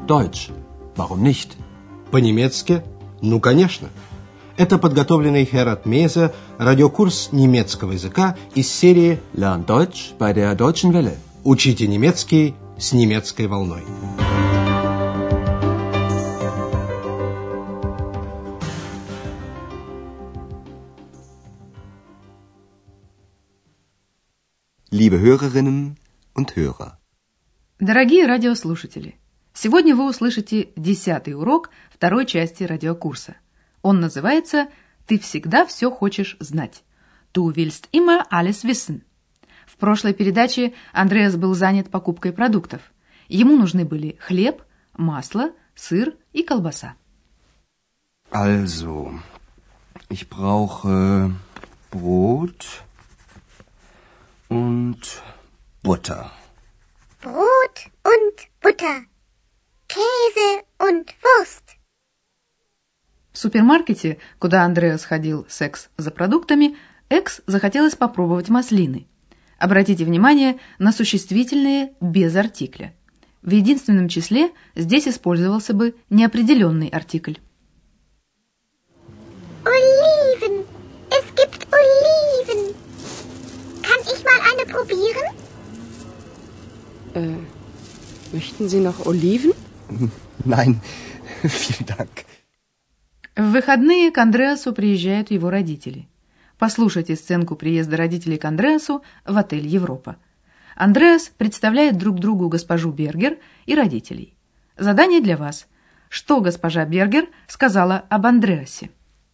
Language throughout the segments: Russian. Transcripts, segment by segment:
Deutsch. Warum nicht? По-немецки? Ну, конечно. Это подготовленный Херат Мейзе радиокурс немецкого языка из серии Lern Deutsch bei der Deutschen Welle. «Учите немецкий с немецкой волной». Liebe Hörerinnen und Hörer. Дорогие радиослушатели, сегодня вы услышите 10-й урок второй части радиокурса. Он называется «Ты всегда все хочешь знать». Du willst immer alles wissen. В прошлой передаче Андреас был занят покупкой продуктов. Ему нужны были хлеб, масло, сыр и колбаса. Also, ich brauche Brot und Butter. Brot und Butter. Käse und Wurst. В супермаркете, куда Андреас ходил с Экс за продуктами, Экс захотелось попробовать маслины. Обратите внимание на существительные без артикля. В единственном числе здесь использовался бы неопределенный артикль. Oliven. Es gibt Oliven. Kann ich mal eine probieren? Möchten Sie noch Oliven? Nein, vielen Dank. В выходные к Андреасу приезжают его родители. Послушайте сценку приезда родителей к Андреасу в отель «Европа». Андреас представляет друг другу госпожу Бергер и родителей. Задание для вас. Что госпожа Бергер сказала об Андреасе?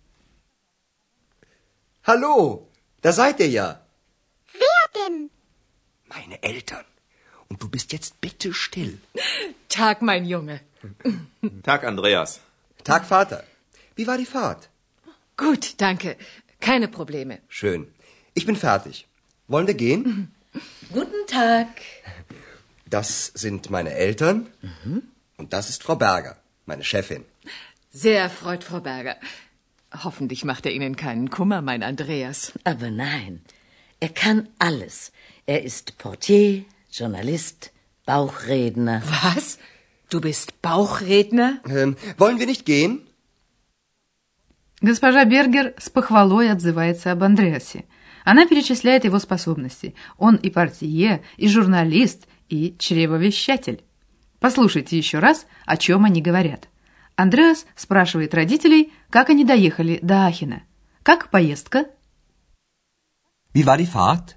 Hallo, da seid ihr ja. Wer denn? Meine Eltern. Und du bist jetzt bitte still. Tag, mein Junge. Tag, Andreas. Tag, Vater. Wie war die Fahrt? Gut, danke. Keine Probleme. Schön. Ich bin fertig. Wollen wir gehen? Guten Tag. Das sind meine Eltern. Und das ist Frau Berger, meine Chefin. Sehr erfreut, Frau Berger. Hoffentlich macht er Ihnen keinen Kummer, mein Andreas. Aber nein, er kann alles. Er ist Portier, Journalist, Bauchredner. Was? Du bist Bauchredner? Wollen wir nicht gehen? Госпожа Бергер с похвалой отзывается об Андреасе. Она перечисляет его способности. Он и портье, и журналист, и чревовещатель. Послушайте еще раз, о чем они говорят. Андреас спрашивает родителей, как они доехали до Ахена. Как поездка? Wie war die Fahrt?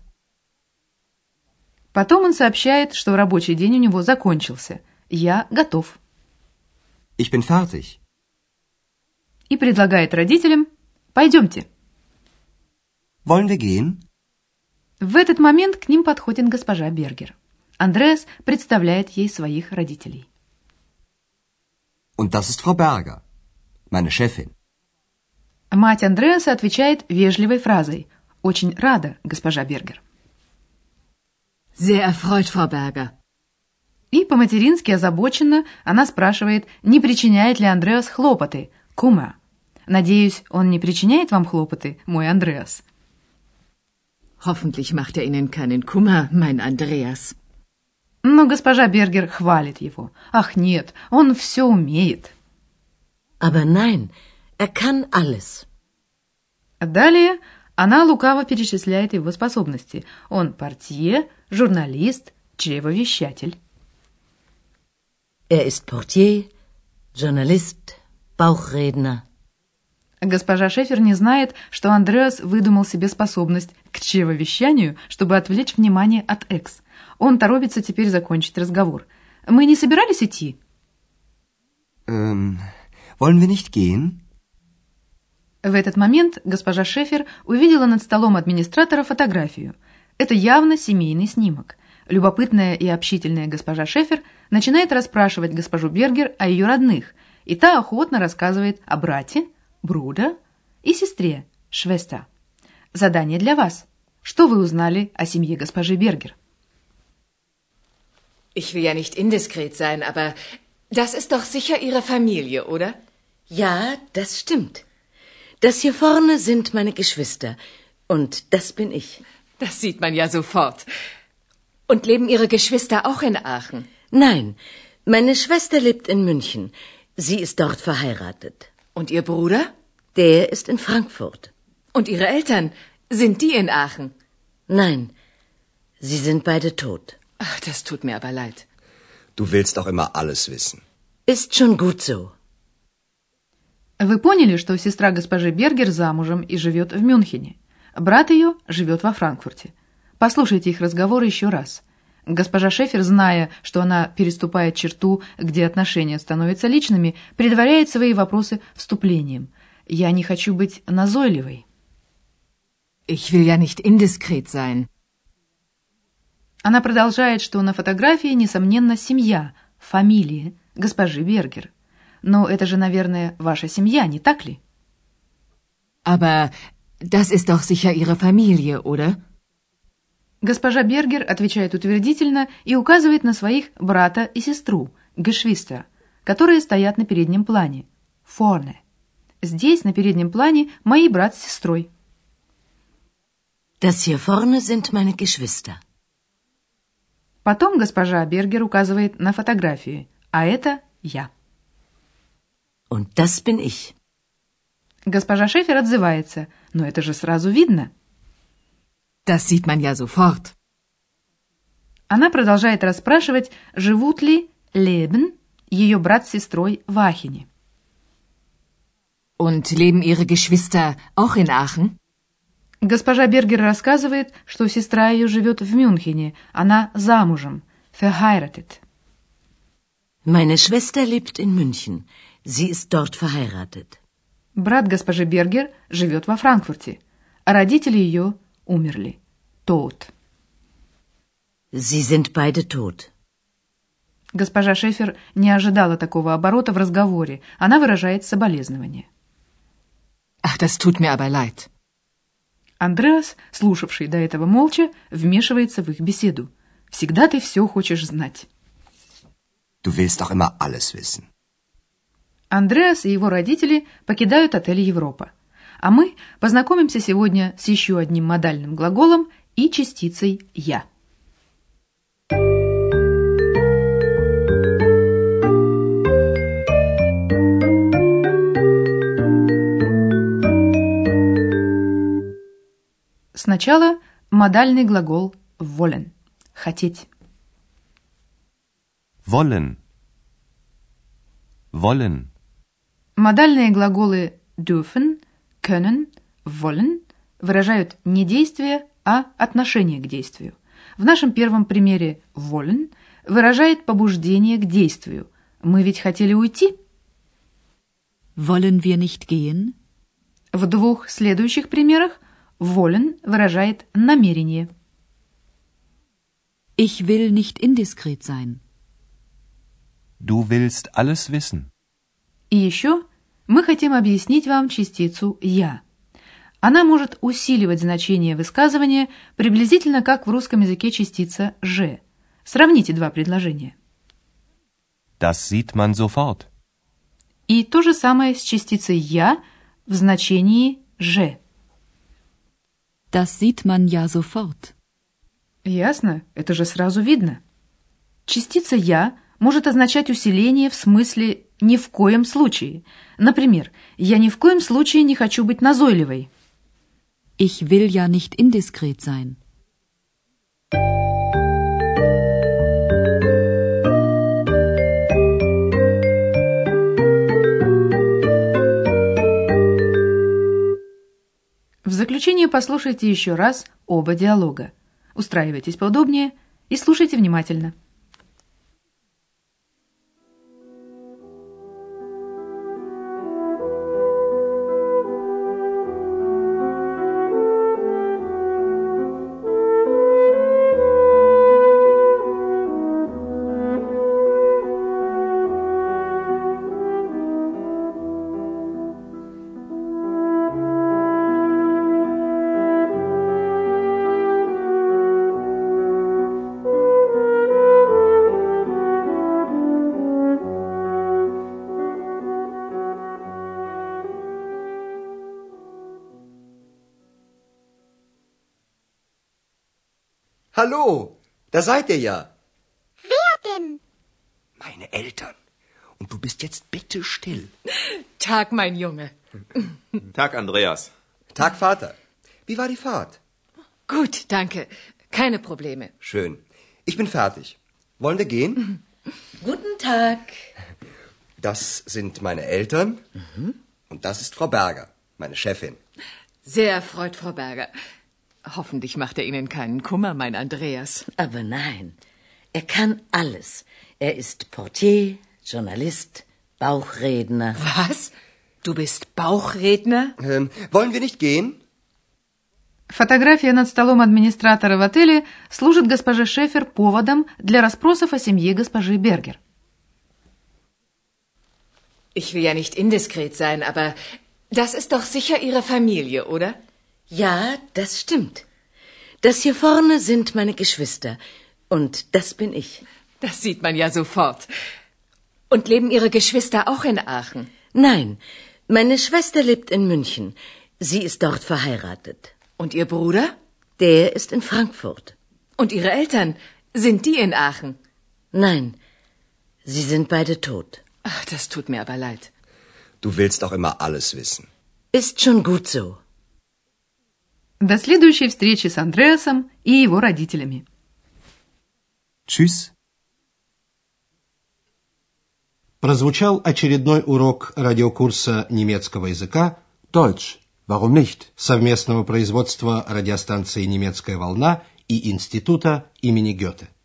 Потом он сообщает, что рабочий день у него закончился. Я готов. Ich bin fertig. И предлагает родителям «Пойдемте». Wollen wir gehen? В этот момент к ним подходит госпожа Бергер. Андреас представляет ей своих родителей. Und das ist Frau Berger, meine Chefin. Мать Андреаса отвечает вежливой фразой «Очень рада, госпожа Бергер». Sehr erfreut, Frau Berger. И по-матерински озабоченно она спрашивает, не причиняет ли Андреас хлопоты, кума. Надеюсь, он не причиняет вам хлопоты, мой Андреас. Hoffentlich macht er Ihnen keinen Kummer, mein Andreas. Но госпожа Бергер хвалит его. Ах, нет, он все умеет. Aber nein, er kann alles. Далее она лукаво перечисляет его способности. Он портье, журналист, чревовещатель. Er ist Portier, Journalist, Bauchredner. Госпожа Шефер не знает, что Андреас выдумал себе способность к чревовещанию, чтобы отвлечь внимание от Экс. Он торопится теперь закончить разговор. Мы не собирались идти? Wollen wir nicht gehen? В этот момент госпожа Шефер увидела над столом администратора фотографию. Это явно семейный снимок. Любопытная и общительная госпожа Шефер начинает расспрашивать госпожу Бергер о ее родных, и та охотно рассказывает о брате, Бруда, и сестре, Швестер. Задание для вас. Что вы узнали о семье госпожи Бергер? Ich will ja nicht indiskret sein, aber das ist doch sicher Ihre Familie, oder? Ja, das stimmt. Das hier vorne sind meine Geschwister und das bin ich. Das sieht man ja sofort. Und leben Ihre Geschwister auch in Aachen? Nein, Meine Schwester lebt in München. Sie ist dort verheiratet. Und Ihr Bruder? Der ist in Frankfurt. Und Ihre Eltern? Sind die in Aachen? Nein, sie sind beide tot. Ach, das tut mir aber leid. Du willst auch immer alles wissen. Ist schon gut so. Вы поняли, что сестра госпожи Бергер замужем и живет в Мюнхене. Брат ее живет во Франкфурте. Послушайте их разговоры еще раз. Госпожа Шефер, зная, что она переступает черту, где отношения становятся личными, предваряет свои вопросы вступлением. «Я не хочу быть назойливой». Ich will ja nicht indiskret sein. Она продолжает, что на фотографии, несомненно, семья, фамилия госпожи Бергер. Но это же, наверное, ваша семья, не так ли? Aber das ist doch sicher Ihre Familie, oder? Госпожа Бергер отвечает утвердительно и указывает на своих брата и сестру, Geschwister, которые стоят на переднем плане, vorne. Здесь, на переднем плане, мои брат с сестрой. Das hier vorne sind meine Geschwister. Потом госпожа Бергер указывает на фотографии, а это я. Und das bin ich. Госпожа Шефер отзывается, но это же сразу видно. Das sieht man ja sofort. Она продолжает расспрашивать, живут ли Leben, ее брат с сестрой в Ахене. Und leben Ihre Geschwister auch in Aachen? Госпожа Бергер рассказывает, что сестра ее живет в Мюнхене, она замужем, verheiratet. Meine Schwester lebt in München. Sie ist dort verheiratet. Брат госпожи Бергер живет во Франкфурте, а родители ее умерли. Tot. Sie sind beide tot. Госпожа Шефер не ожидала такого оборота в разговоре. Она выражает соболезнование. Ach, das tut mir aber leid. Андреас, слушавший до этого молча, вмешивается в их беседу. Всегда ты все хочешь знать. Du willst auch immer alles wissen. Андреас и его родители покидают отель «Европа». А мы познакомимся сегодня с еще одним модальным глаголом и частицей «я». Сначала модальный глагол wollen – хотеть. Wollen. Wollen. Модальные глаголы dürfen, können, wollen выражают не действие, а отношение к действию. В нашем первом примере wollen выражает побуждение к действию. Мы ведь хотели уйти. Wollen wir nicht gehen? В двух следующих примерах wollen выражает намерение. Ich will nicht indiskret sein. Du willst alles wissen. И еще мы хотим объяснить вам частицу «я». Она может усиливать значение высказывания приблизительно как в русском языке частица «же». Сравните два предложения. Das sieht man sofort. И то же самое с частицей «я» в значении «же». Das sieht man ja sofort. Ясно? Это же сразу видно. Частица «я» может означать усиление в смысле «ни в коем случае». Например, «я ни в коем случае не хочу быть назойливой». Ich will ja nicht indiskret sein. В заключение послушайте еще раз оба диалога. Устраивайтесь поудобнее и слушайте внимательно. Hallo, da seid ihr ja. Wer denn? Meine Eltern. Und du bist jetzt bitte still. Tag, mein Junge. Tag, Andreas. Tag, Vater. Wie war die Fahrt? Gut, danke. Keine Probleme. Schön. Ich bin fertig. Wollen wir gehen? Guten Tag. Das sind meine Eltern. Und das ist Frau Berger, meine Chefin. Sehr erfreut, Frau Berger. Hoffentlich macht er Ihnen keinen Kummer, mein Andreas. Aber nein, er kann alles. Er ist Portier, Journalist, Bauchredner. Was? Du bist Bauchredner? Wollen wir nicht gehen? Фотография над столом администратора в отеле служит госпоже Шефер поводом для расспросов о семье госпожи Бергер. Ich will ja nicht indiskret sein, aber das ist doch sicher Ihre Familie, oder? Ja, das stimmt. Das hier vorne sind meine Geschwister. Und das bin ich. Das sieht man ja sofort. Und leben Ihre Geschwister auch in Aachen? Nein, meine Schwester lebt in München. Sie ist dort verheiratet. Und Ihr Bruder? Der ist in Frankfurt. Und Ihre Eltern? Sind die in Aachen? Nein, sie sind beide tot. Ach, das tut mir aber leid. Du willst auch immer alles wissen. Ist schon gut so. До следующей встречи с Андреасом и его родителями. Tschüss. Прозвучал очередной урок радиокурса немецкого языка Deutsch. Warum nicht? совместного производства радиостанции «Немецкая волна» и Института имени Гёте.